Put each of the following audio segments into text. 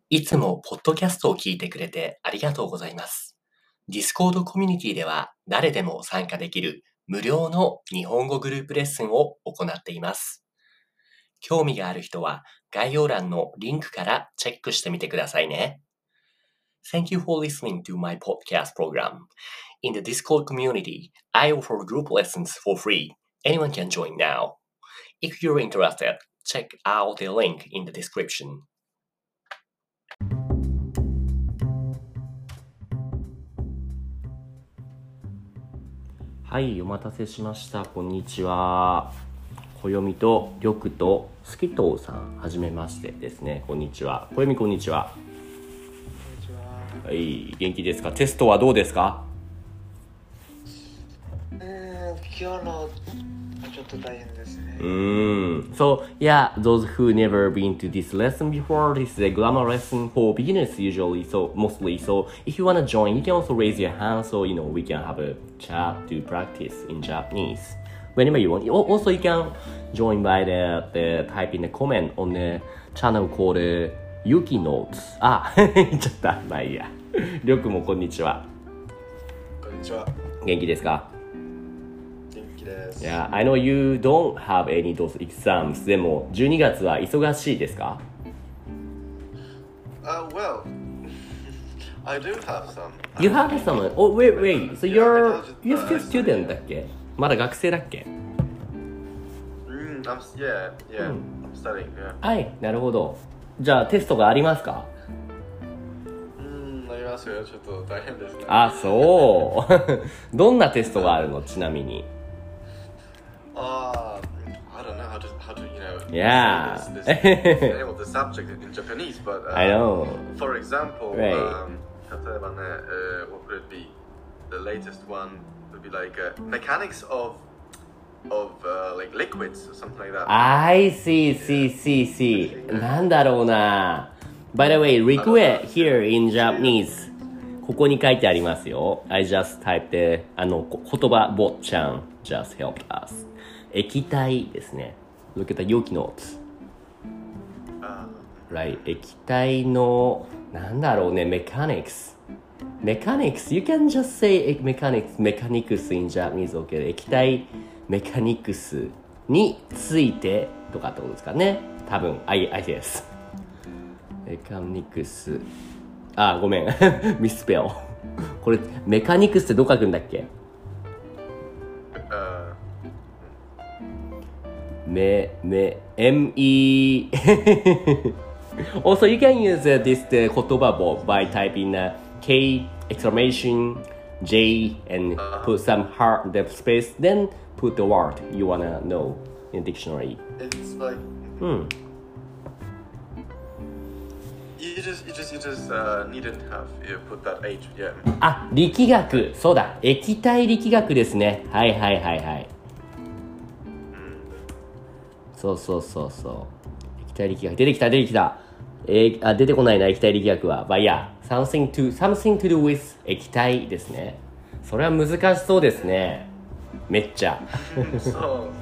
いつもポッドキャストを聞いてくれてありがとうございます。Discord コミュニティでは誰でも参加できる無料の日本語グループレッスンを行っています。興味がある人は概要欄のリンクからチェックしてみてくださいね。Thank you for listening to my podcast program. In the Discord community, I offer group lessons for free. Anyone can join now. If you're interested, check out the link in the description. はい、お待たせしました。こんにちは。暦と緑とスキトウさん、はじめましてですね。こんにちは。暦こんにちは。はい、元気ですか？テストはどうですか？ 今日のちょっと大変ですね。 So, yeah, those who never been to this lesson before, this is a grammar lesson for beginners usually, so mostly. So, if you want to join, you can also raise your hand so, we can have a chat to practice in Japanese. Whenever you want. Also, you can join by the type in the comment on the channel called Yuki Notes. 言っちゃった。まあいいや。りょうくんもこんにちは。 こんにちは。 元気ですか ？Yeah, I know you don't have any those exams. でも12月は忙しいですか？ Well, I do have some. You have some? Oh, wait. So you're still student だっけ？まだ学生だっけ？ I'm studying, yeah. はい、なるほど。じゃあテストがありますか？ ありますよ。ちょっと大変ですね。 そう。どんなテストがあるの？ちなみに。 I don't know how to Yeah. say this name of the subject in Japanese, but I know. For example, Right. 例えばね、what could it be? The latest one would be like mechanics of like liquids or something like that. I see. なんだろうな。By the way, liquid here in Japanese. ここに書いてありますよ。I just typed 言葉坊ちゃん just helped us. 液体ですね。Look at the Yuki notes. Right. 液体のなんだろうね。Mechanics. You can just say mechanics in Japanese. Okay. 液体メカニクスについてとかってことですかね。多分。I guess. メカニクス。ごめん。ミスペル。これメカニクスってどう書くんだっけ？Me Also, you can use this 言葉簿 by typing K exclamation J and put some hard the space, then put the word you wanna know in dictionary. It's like you just needn't have you put that H, yeah. 力学、そうだ、液体力学ですね。はい。そう。液体力学出てきた。出てこないな、液体力学は。But yeah, something to do with 液体ですね。それは難しそうですね。めっちゃ。 そうです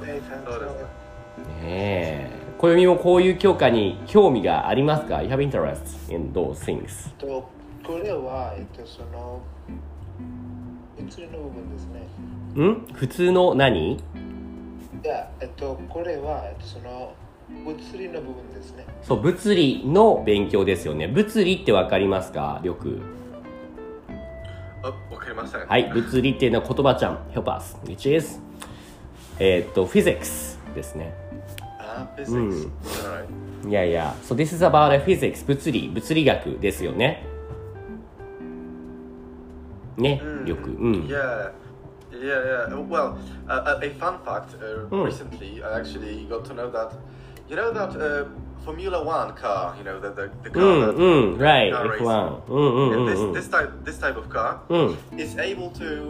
ね。暦もこういう教科に興味がありますか？ You have interest in those things. これはその物理の部分ですね。 普通の何？ いや、これはその物理の部分ですね。 そう、物理の勉強ですよね。物理ってわかりますか？よく。 わかりません。 はい、物理っていうのは言葉ちゃん help us which is physics ですね。 physics. Yeah. So this is about physics 物理学ですよね。ね、よく。 Yeah. Well, a fun fact. Recently, I actually got to know that. You know that Formula One car. You know the car. Right. Car F1. And this type of car is able to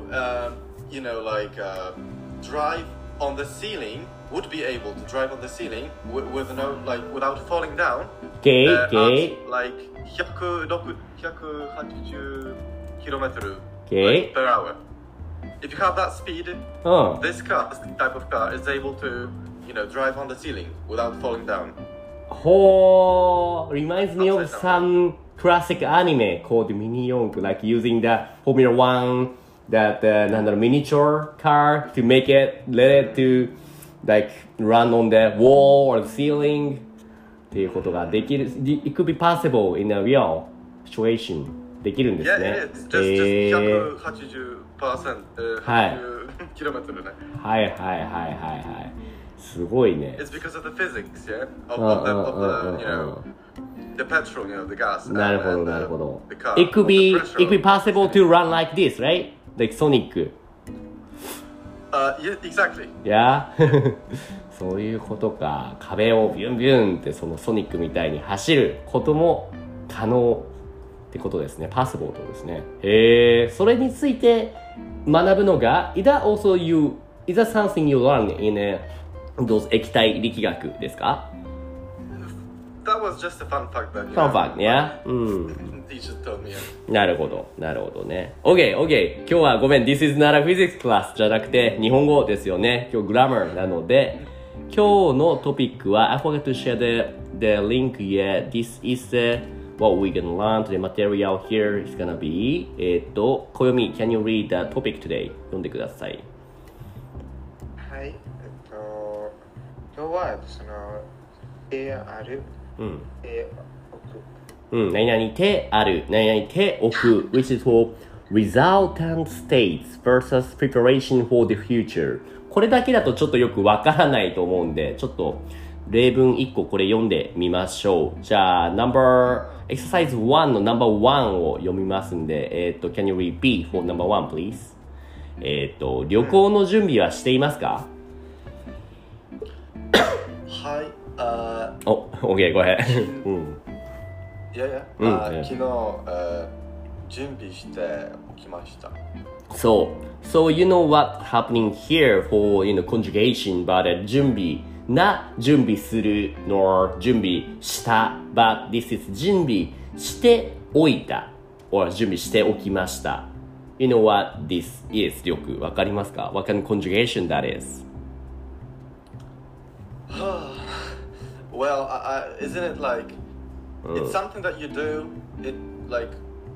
drive on the ceiling. Would be able to drive on the ceiling with no without falling down. Okay. At like 180 kilometers per hour. If you have that speed, this type of car is able to, drive on the ceiling without falling down. Reminds me of some classic anime called Mini-Yonk, like using the Formula One, that miniature car to make it, let it to like run on the wall or the ceiling っていうことができる。It could be possible in a real situation. できるんですね。 Yeah, just 180%、80キロメートルね。 はいはいはいはいはい。すごいね。 It's because of the physics, yeah, of the you know, the petrol, you know, the gas. なるほどなるほど。It could be possible to run like this, right? Like Sonic. Yeah, exactly. Yeah. そういうことか。壁をビュンビュンってそのソニックみたいに走ることも可能ってことですね。possible ってことですね。それについて学ぶのが、is that something you learn in those 液体力学ですか？ That was just a fun fact that, Fun fact, yeah? Teacher told me. なるほど、なるほどね。OK。今日はごめん、This is not a physics class じゃなくて日本語ですよね。今日グラマーなので、今日のトピックは I forgot to share the link yet. This is what we're gonna learn. The material here is gonna be 暦 Can you read the topic today? 読んでください。 はい、今日はそのある、 何々手ある、何々手置く which is for resultant states versus preparation for the future。 これだけだとちょっとよくわからないと思うんで、ちょっと例文1個これ読んでみましょう。じゃあexercise 1の No.1 を読みますんで、Can you read B for No.1 please？ 旅行の準備はしていますか？ はい、 OK, go ahead. いや、昨日、準備しておきました。 So you know what happening here for conjugation, but 準備する nor 準備した but this is 準備しておいた or 準備しておきました。You know what this is? よくわかりますか？ What kind of conjugation that is? Well, isn't it like it's something that you do? It like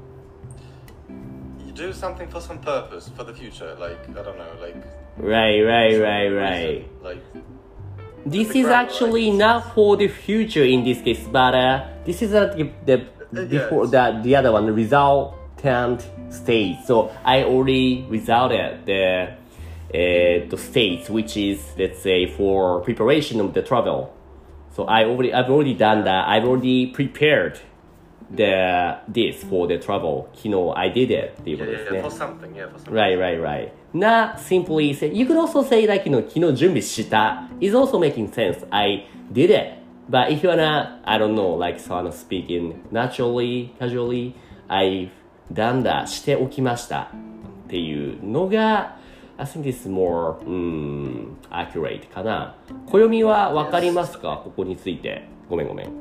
you do something for some purpose for the future. Like I don't know, like right. Like this is actually not for the future in this case, but this is before the other one, the resultant state. So I already resulted the states, which is let's say for preparation of the travel. So I've already done that. I've already prepared this for the travel. 昨日 I did it っていうことですね。 For something. Right. Not simply say, you could also say like, 昨日準備した is also making sense. I did it. But if you're not, I don't know, like someone speaking naturally, casually, I've done that. しておきましたっていうのがI think this is more accurate かな。暦は分かりますか？ここについて。ごめん。 はい、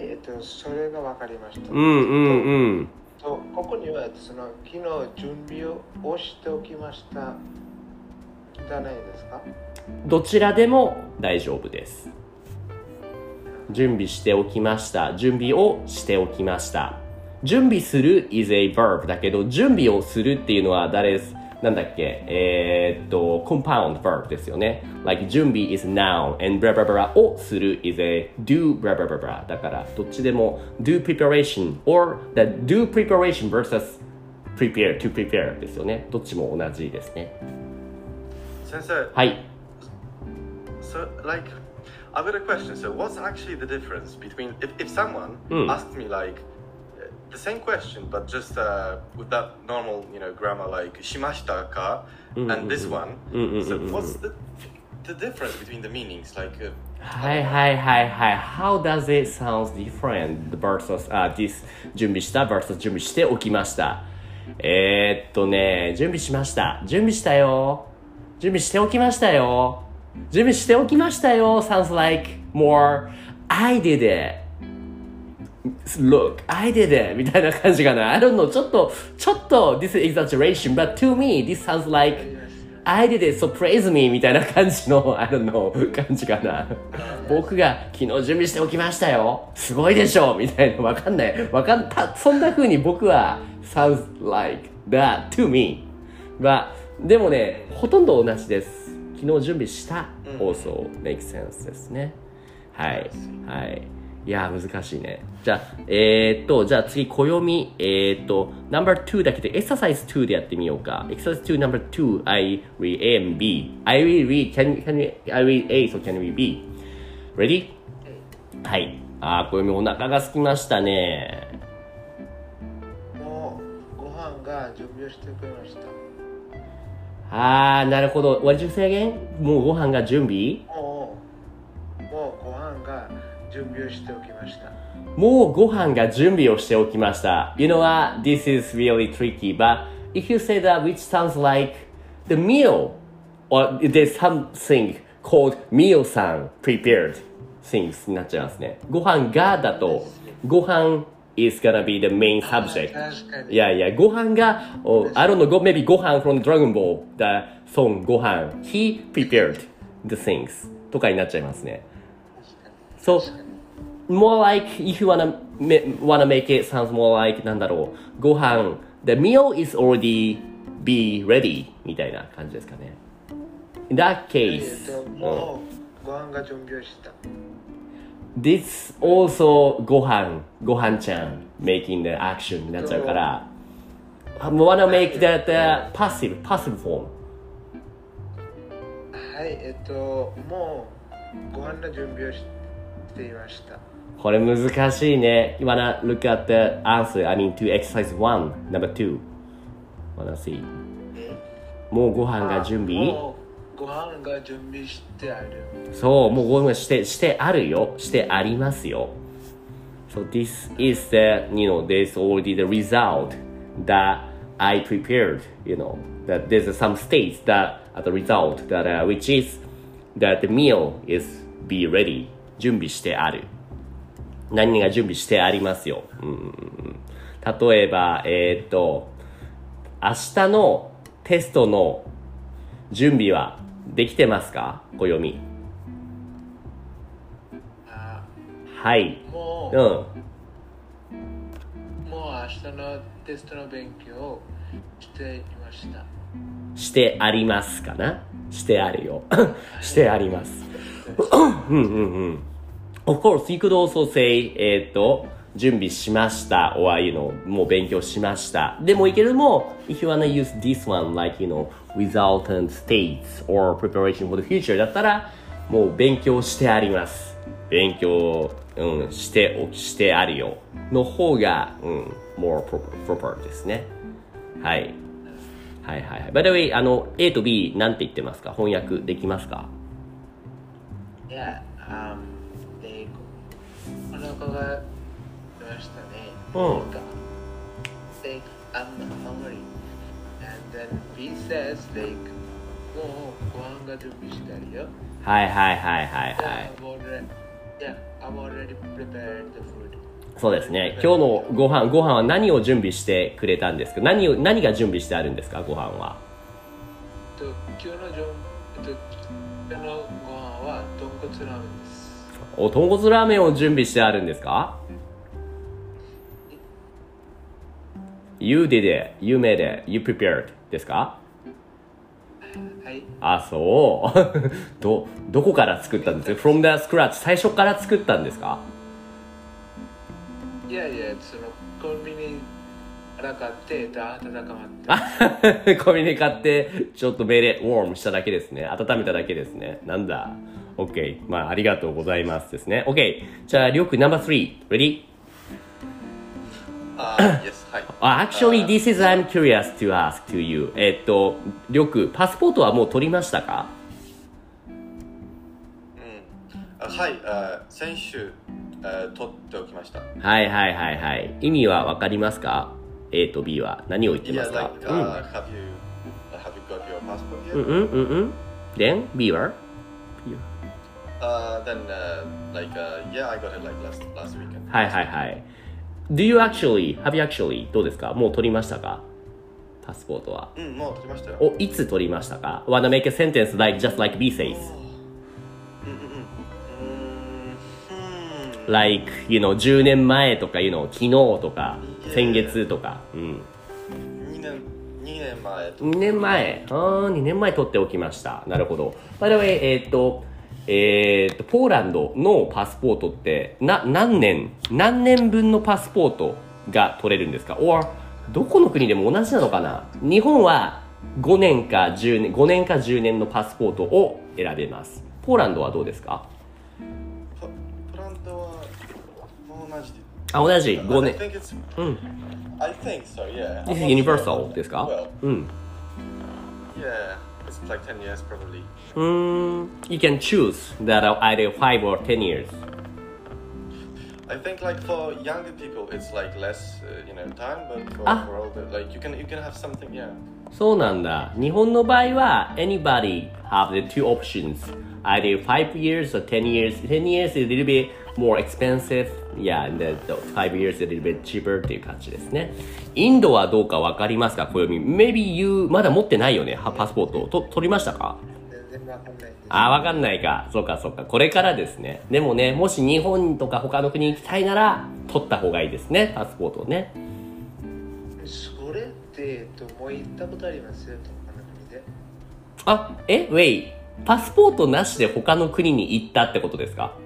それが分かりました。ここにはその昨日準備をしておきましたじゃないですか？ どちらでも大丈夫です。準備しておきました。準備をしておきました。準備する is a verb だけど、準備をするっていうのはなんだっけcompound verb ですよね。like 準備 is noun and blah blah blah をする is a do blah blah blah blah だからどっちでも do preparation or the do preparation versus prepare to prepare ですよね。どっちも同じですね。 先生。 はい。 So like I've got a question. So what's actually the difference between if someone asked me like the same question, but just with that normal, grammar like しましたか and this one. So what's the difference between the meanings? Like, Hi. How does it sound different versus this 準備した versus 準備しておきました。準備しました。準備したよ。準備しておきましたよ。準備しておきましたよ。Sounds like more I did it.Look, I did it! みたいな感じかな。I don't know. ちょっと this is exaggeration, but to me, this sounds like I did it, so praise me みたいな感じの、I don't know 感じかな。僕が昨日準備しておきましたよ。すごいでしょみたいな、わかんない。そんな風に僕は sounds like that to me。でもね、ほとんど同じです。昨日準備した、also makes sense ですね。はい。はい。いや、難しいね。じゃあ、じゃあ次、暦。No.2 だけで、exercise 2でやってみようか。exercise 2 No.2, I read A and B. I will read, I read A, so can we B? Ready? はい。暦お腹が空きましたね。 もう、ご飯が準備をしてくれました。 なるほど。What did you say again? もうご飯が準備？ もうご飯が準備をしておきました。 もうご飯が準備をしておきました。You know what? This is really tricky, but if you say that which sounds like the meal, or there's something called meal-san prepared things になっちゃいますね。ご飯がだと、ご飯is gonna be the main subject. いやいや、ご飯が、I don't know, maybe ご飯 from Dragon Ball, the song ご飯 he prepared the things とかになっちゃいますね。So, more like, if you wanna make it sounds more like, なんだろう、ご飯 the meal is already be ready みたいな感じですかね。In that case, もうご飯が準備をした。 This also ご飯ちゃん making the action になっちゃうから wanna make that passive form はい、もうご飯の準備をしていました。 これ難しいね。You wanna look at the answer, I mean to exercise 1, number 2 wanna see もうご飯が準備ご飯が準備してある。 そう、もうご飯してあるよ。してありますよ。So this is the, you know, there's already the result that I prepared, you know, that there's some states that at the result that, which is that the meal is be ready. 準備してある。何が準備してありますよ。例えば、明日のテストの準備はできてますか？暦。はい。 もう明日のテストの勉強をしていました。 してありますかな？してあるよ。してあります。Of course, you could also say, 準備しました or, you know, もう勉強しました。でもいいけども、if you wanna use this one, like, you know, resultant states or preparation for the future だったら、もう勉強してあります。勉強、してあるよ。の方が、more proper ですね。はい。はいはいはい。By the way, A と B なんて言ってますか？翻訳できますか？ いや、お腹が出ましたね。Like, I'm hungry. And then B says, like, もうご飯が準備してあるよ。 はいはいはいはいはい。 I'm already prepared the food. そうですね。今日のご飯は何を準備してくれたんですか？何が準備してあるんですか？ご飯は。 今日のご飯は豚骨ラーメンです。 豚骨ラーメンを準備してあるんですか？ You did it, you made it, you prepared ですか？ はい。 そう。どこから作ったんですか？ From the scratch 最初から作ったんですか？ いやそのコンビニから買って温まって。 コンビニ買ってちょっとメレウォームしただけですね。温めただけですね。なんだ。OK。ありがとうございますですね。OK。じゃあ、りょうくん No.3 Ready? Yes, はい。 Actually, this is I'm curious to ask to you. りょうくん、パスポートはもう取りましたか？ はい、先週、取っておきました。 はいはいはいはい。意味はわかりますか？ A と B は何を言ってますか？ Yeah, like, have you got your passport yet? Then B は Then, yeah, I got it like last weekend. はいはいはい。Have you actually どうですか？もう取りましたか？ パスポートは。 もう取りましたよ。 お、いつ取りましたか？ Wanna make a sentence like just like B says. Like, 10年前とか、昨日とか、先月とか。 2年前。 2年前。2年前取っておきました。なるほど。By the way、ポーランドのパスポートって、何年分のパスポートが取れるんですか？ or どこの国でも同じなのかな？日本は5年か10年のパスポートを選べます。ポーランドはどうですか？ ポーランドは同じで。 同じ5年。 I think so, yeah. This is universal ですか？ Yeah, it's like 10 years probably. You can choose that either 5 or 10 years. I think like for younger people it's like less, time, but for older, like you can have something, yeah. そうなんだ。日本の場合は anybody have the two options. Either 5 years or 10 years. 10 years is a little bit more expensive. Yeah, and the 5 years is a little bit cheaper っていう感じですね。インドはどうかわかりますか？Maybe you まだ持ってないよね。パスポート取りましたか？ 全然わかんないです。 わかんないか。そうか。これからですね。でもね、もし日本とか他の国に行きたいなら、取った方がいいですね。パスポートをね。 それって、もう行ったことありますよ、他の国で。 wait。パスポートなしで他の国に行ったってことですか？ はい、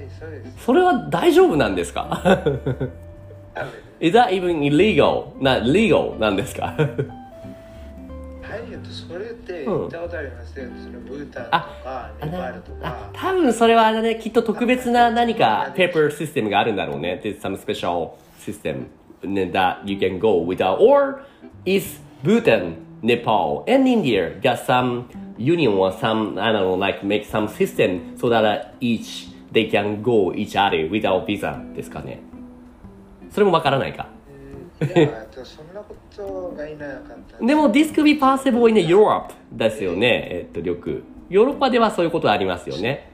そうです。 それは大丈夫なんですか？ Is that even illegal? legal なんですか？ はい、それって行ったことありますよ。そのブータンとかネパールとか。 多分それはね、きっと特別な何かペーパーシステムがあるんだろうね。There's some special system that you can go without. Or is Bhutan, Nepal, and India got some union or some, I don't know, like make some system so that they can go each other without visa ですかね。それもわからないか。 いや、そんなことがいなかった。 でも this could be possible in Europe ですよね。よくヨーロッパではそういうことありますよね。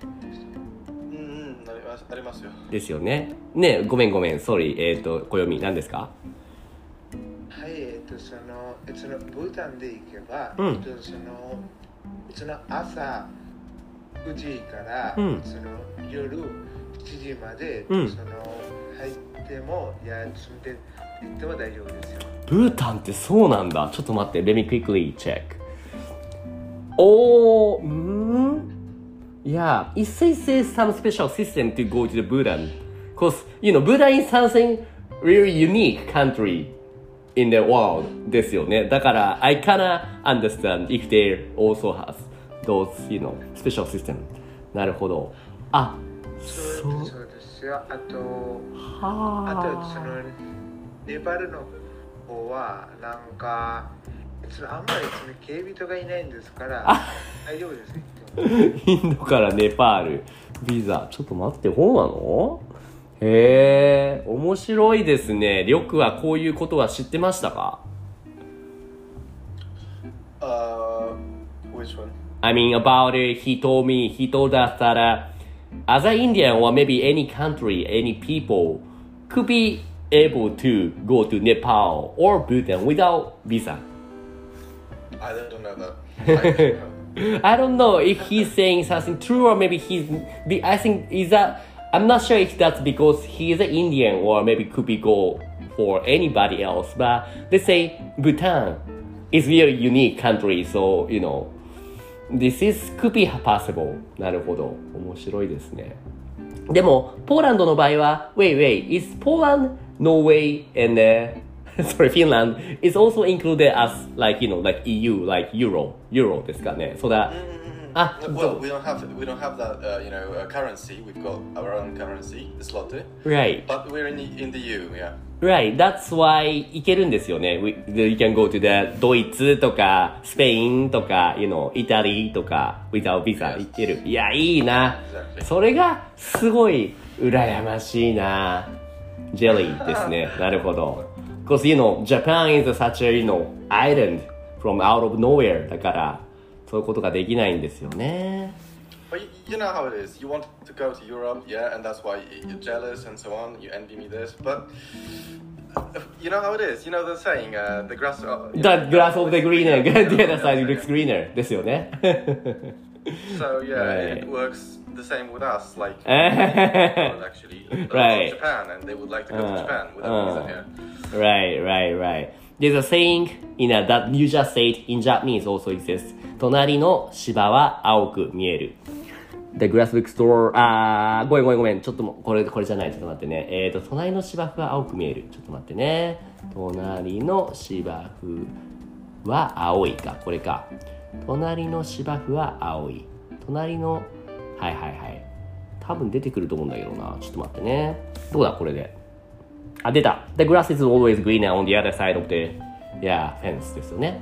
ありますよ。 ですよね。ね、ごめん、sorry。暦何ですか？ はい、そのブータンで行けば、その朝9時から、その夜7時まで、その入っても住んで行っても大丈夫ですよ。 ブータンってそうなんだ。ちょっと待って、let me quickly check. Yeah, it says some special system to go to the Bhutan. Because, Bhutan is something really unique country in the world ですよね。だから、I kinda understand if they also has those, special system. なるほど。 そうですよ。あとそのネパールの方はなんかあんまり警備とかいないんですから大丈夫ですよ。 インドからネパールビザ、ちょっと待って、そうなの？へえ、面白いですね。りょくはこういうことは知ってましたか？ Which one? I mean about it, he told us that as an Indian or maybe any country, any people could be able to go to Nepal or Bhutan without visa. I don't know that. I don't know if he's saying something true or maybe I think I'm not sure if that's because he is an Indian or maybe could be go for anybody else. But let's say Bhutan is a really unique country, so this could be possible. なるほど、面白いですね。でもポーランドの場合は wait, is Poland, Norway and sorry, Finland is also included as like EU, like Euro ですかね。So that well, we don't have that currency. We've got our own currency, the zloty. Right. But we're in the EU, yeah. Right. That's why 行けるんですよね。You can go to the ドイツとかスペインとかイタリーとか without visa 行ける。いや、いいな。それがすごい羨ましいな。ジェリーですね。なるほど。Because Japan is such a island from out of nowhere だからそういうことができないんですよね。 But you know how it is. You want to go to Europe, yeah, and that's why you're jealous and so on. You envy me this, but you know how it is. You know the saying, the grass. The grass of the greener, the other side looks greener. ですよね。 So yeah, Right. it works the same with us. Like actually, Right. Japan, and they would like to go to Japan without visa here. Right. There's a saying that you just said in Japanese also exists. 隣の芝は青く見える。The grass looks store ごめんちょっとこれじゃない、ちょっと待ってね。隣の芝生は青く見える。ちょっと待ってね。隣の芝生は青いか、これか。隣の芝生は青い。隣のはい多分出てくると思うんだけどな。ちょっと待ってね。どうだこれで。出た。The grass is always greener on the other side of the fence ですよね。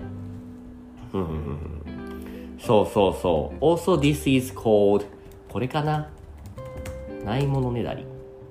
そう。Also this is called これかな。ないものねだり。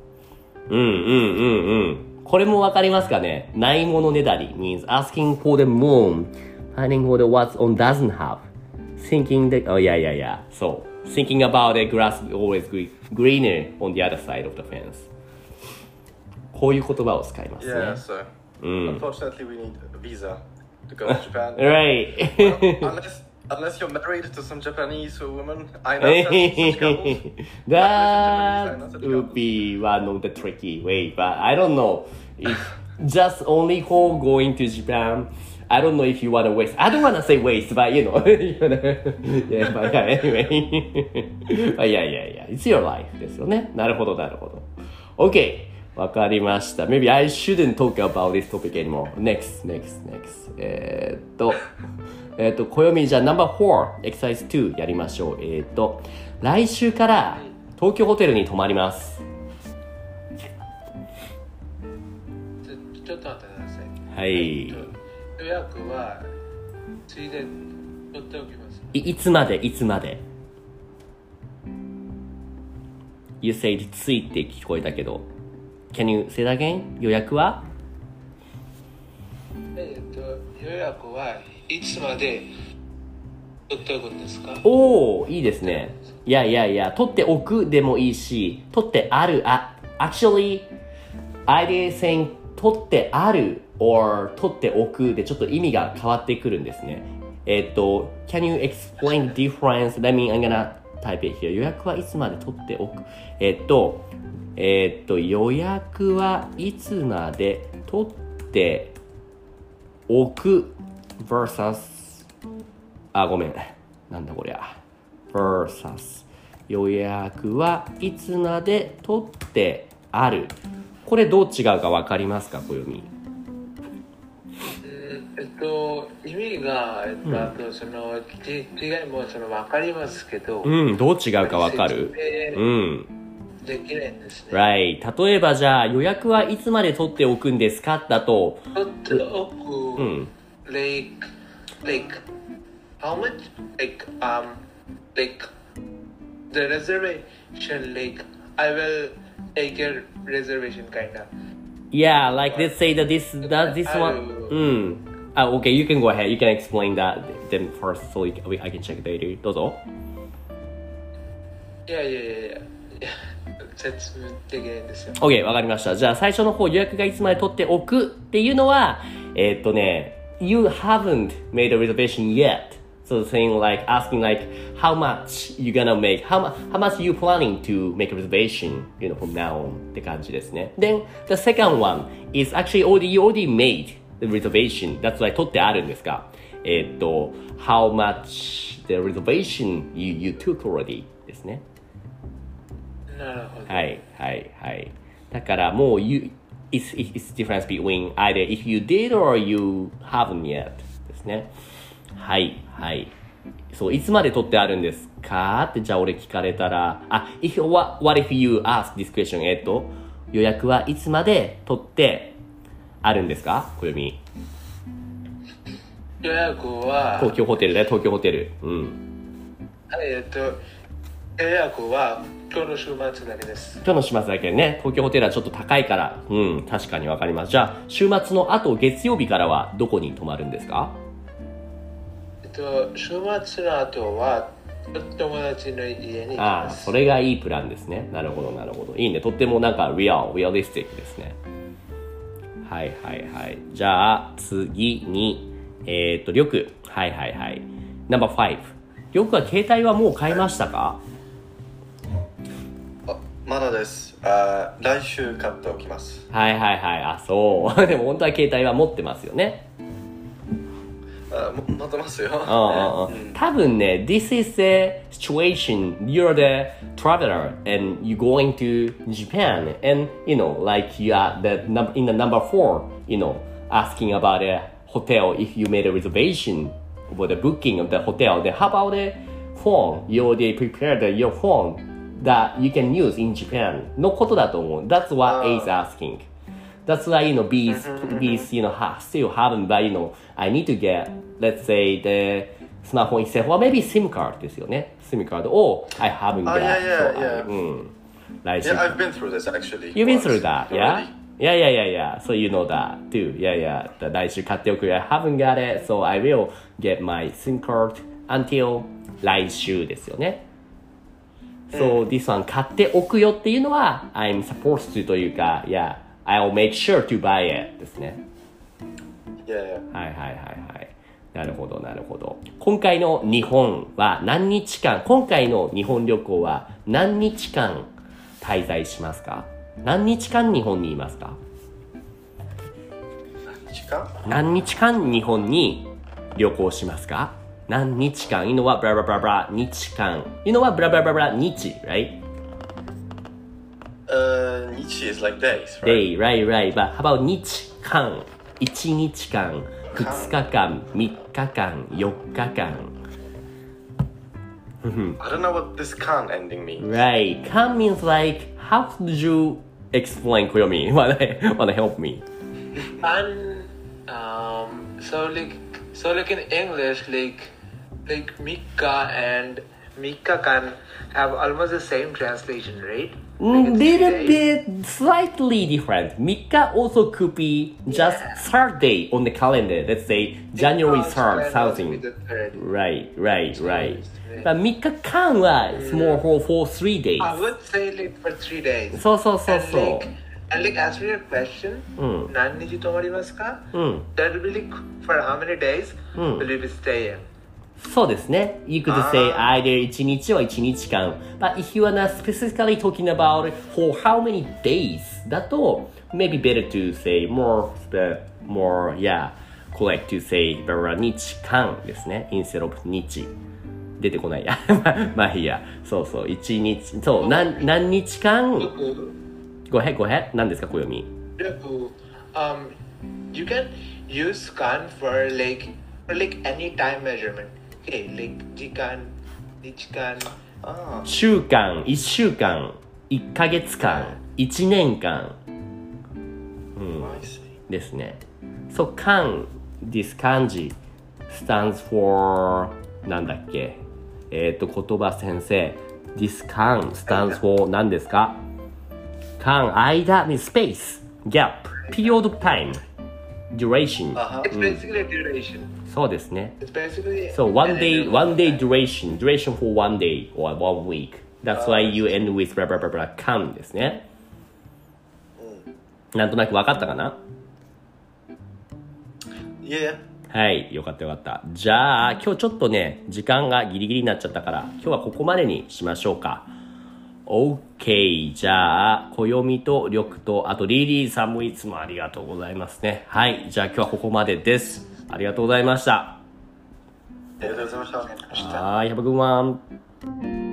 これもわかりますかね。ないものねだり means asking for the moon, finding for the what's on doesn't have, thinking that So thinking about the grass is always greener on the other side of the fence. こういう言葉を使いますね。 Yeah, so unfortunately we need a visa to go to Japan. Right. Well, unless you're married to some Japanese woman, I know such couples. That would be one of the tricky way, but I don't know if just only for going to Japan. I don't know if you want to waste. I don't want to say waste, but you know, yeah, but anyway, but yeah, it's your life ですよね。なるほど。Okay, わかりました。Maybe I shouldn't talk about this topic anymore. Next. 暦じゃあ No.4 Exercise 2やりましょう。来週から東京ホテルに泊まります。 ちょっと待ってください。 はい。 予約はついで取っておきます。 いつまで You said ついて聞こえたけど Can you say that again? 予約は予約はいつまで取っておくんですか？ おー、いいですね。いや、取っておくでもいいし、取ってある、actually, I did saying 取ってある or 取っておくでちょっと意味が変わってくるんですね。Can you explain the difference? I mean, I'm gonna type it here. 予約はいつまで取っておく。予約はいつまで取っておく versus ごめん。なんだこりゃ。versus 予約はいつまで取ってある。これどう違うかわかりますか、暦？ 意味が、その違いもその分かりますけど、 どう違うかわかる？ できないんですね。 Right。例えばじゃあ予約はいつまで取っておくんですかだと、 取っておく、like how much? Like the reservation, like I will take a reservation kinda. Yeah, like let's say that this one. Okay, you can go ahead. You can explain that then first, so I can check later. どうぞ。 いや。説明できないんですよ。 OK、わかりました。じゃあ最初の方予約がいつまで取っておくっていうのは、You haven't made a reservation yet. So saying like asking like how much you gonna make, how much you planning to make a reservation, from now on って感じですね。Then the second one is actually you already made the reservation. That's why 取ってあるんですが、how much the reservation you took already ですね。 なるほど。 はい。だからもうit's difference between either if you did or you haven't yet ですね。はい。そう、いつまで取ってあるんですかってじゃあ俺聞かれたら、what if you ask this question? 予約はいつまで取ってあるんですか？暦。 予約は東京ホテルだよ、東京ホテル。 予約は今日の週末だけです。 今日の週末だけね、東京ホテルはちょっと高いから、確かにわかります。じゃあ、週末の後、月曜日からはどこに泊まるんですか？ 週末の後は、 友達の家に行きます。 それがいいプランですね。なるほどなるほど。いいね。とってもなんかリアリスティックですね。はいはいはい。じゃあ次にりょく。はいはいはい。No.5。りょくは携帯はもう買いましたか？ まだです。来週買っておきます。 はいはいはい。そう。でも本当は携帯は持ってますよね。 持ってますよ。 多分ね、this is a situation, you're the traveler and you're going to Japan and, like you are in the number 4, asking about a hotel if you made a reservation for the booking of the hotel. Then how about the phone? You already prepared your phone that you can use in Japan のことだと思う。That's what A is asking.That's why, B is, still haven't, but, I need to get, let's say, the smartphone itself, or maybe SIM card ですよね。SIM card, or I haven't got. Yeah. I've been through this, actually. You've been through that, yeah? Yeah. So you know that, too. Yeah. 来週買っておく。I haven't got it, so I will get my SIM card until 来週ですよね。So, this one 買っておくよっていうのは、I'm supposed to というか、I'll make sure to buy it ですね。はい。なるほど。今回の日本は何日間、今回の日本旅行は何日間滞在しますか？何日間日本にいますか？何日間日本に旅行しますか？何日間、いうのはブラブラブラブラ日間、いうのはブラブラブラブラ日、 right?Nichi is like days, right? Right. But how about 日間、1日間、2日間、3日間、4日間。 I don't know what this kan ending means. Right. Kan means like, how did you explain, Koyomi? Wanna help me? And so like in English, like Mikka and Mikka can have almost the same translation, right? Little bit slightly different. Mika also could be just third day on the calendar. Let's say January 3rd, something. Right. But Mika kan is more for 3 days. I would say like for 3 days. So. And like as for your question, Naniji tomarimasu ka? That will be like for how many days will you be staying? そうですね。You could say either 1日or 1日間。But if you are not specifically talking about for how many days だと maybe better to say more correct to say 日間ですね。instead of 日。出てこないや。まあいいや。そう、1日。そう、何日間 Go ahead. 何ですか、小読み。 You can use kan for like any time measurement. Okay, like 時間、日間、 週間、1週間、1ヶ月間、1年間。ですね。So, 間、this 漢字 stands for なんだっけ？言葉先生。This 間 stands for 何ですか？間、間 means space, gap, period of time.Duration. It's basically a duration. そうですね。 It's basically So one day duration for 1 day or 1 week. That's why you end with blah blah blah blah can ですね。なんとなく分かったかな？ Yeah. はい、よかった。じゃあ今日ちょっとね時間がギリギリになっちゃったから今日はここまでにしましょうか。OK。じゃあ、暦と緑と、あとリリーさんもいつもありがとうございますね。はい。じゃあ今日はここまでです。ありがとうございました。 ありがとうございました。 はい。Have a good one.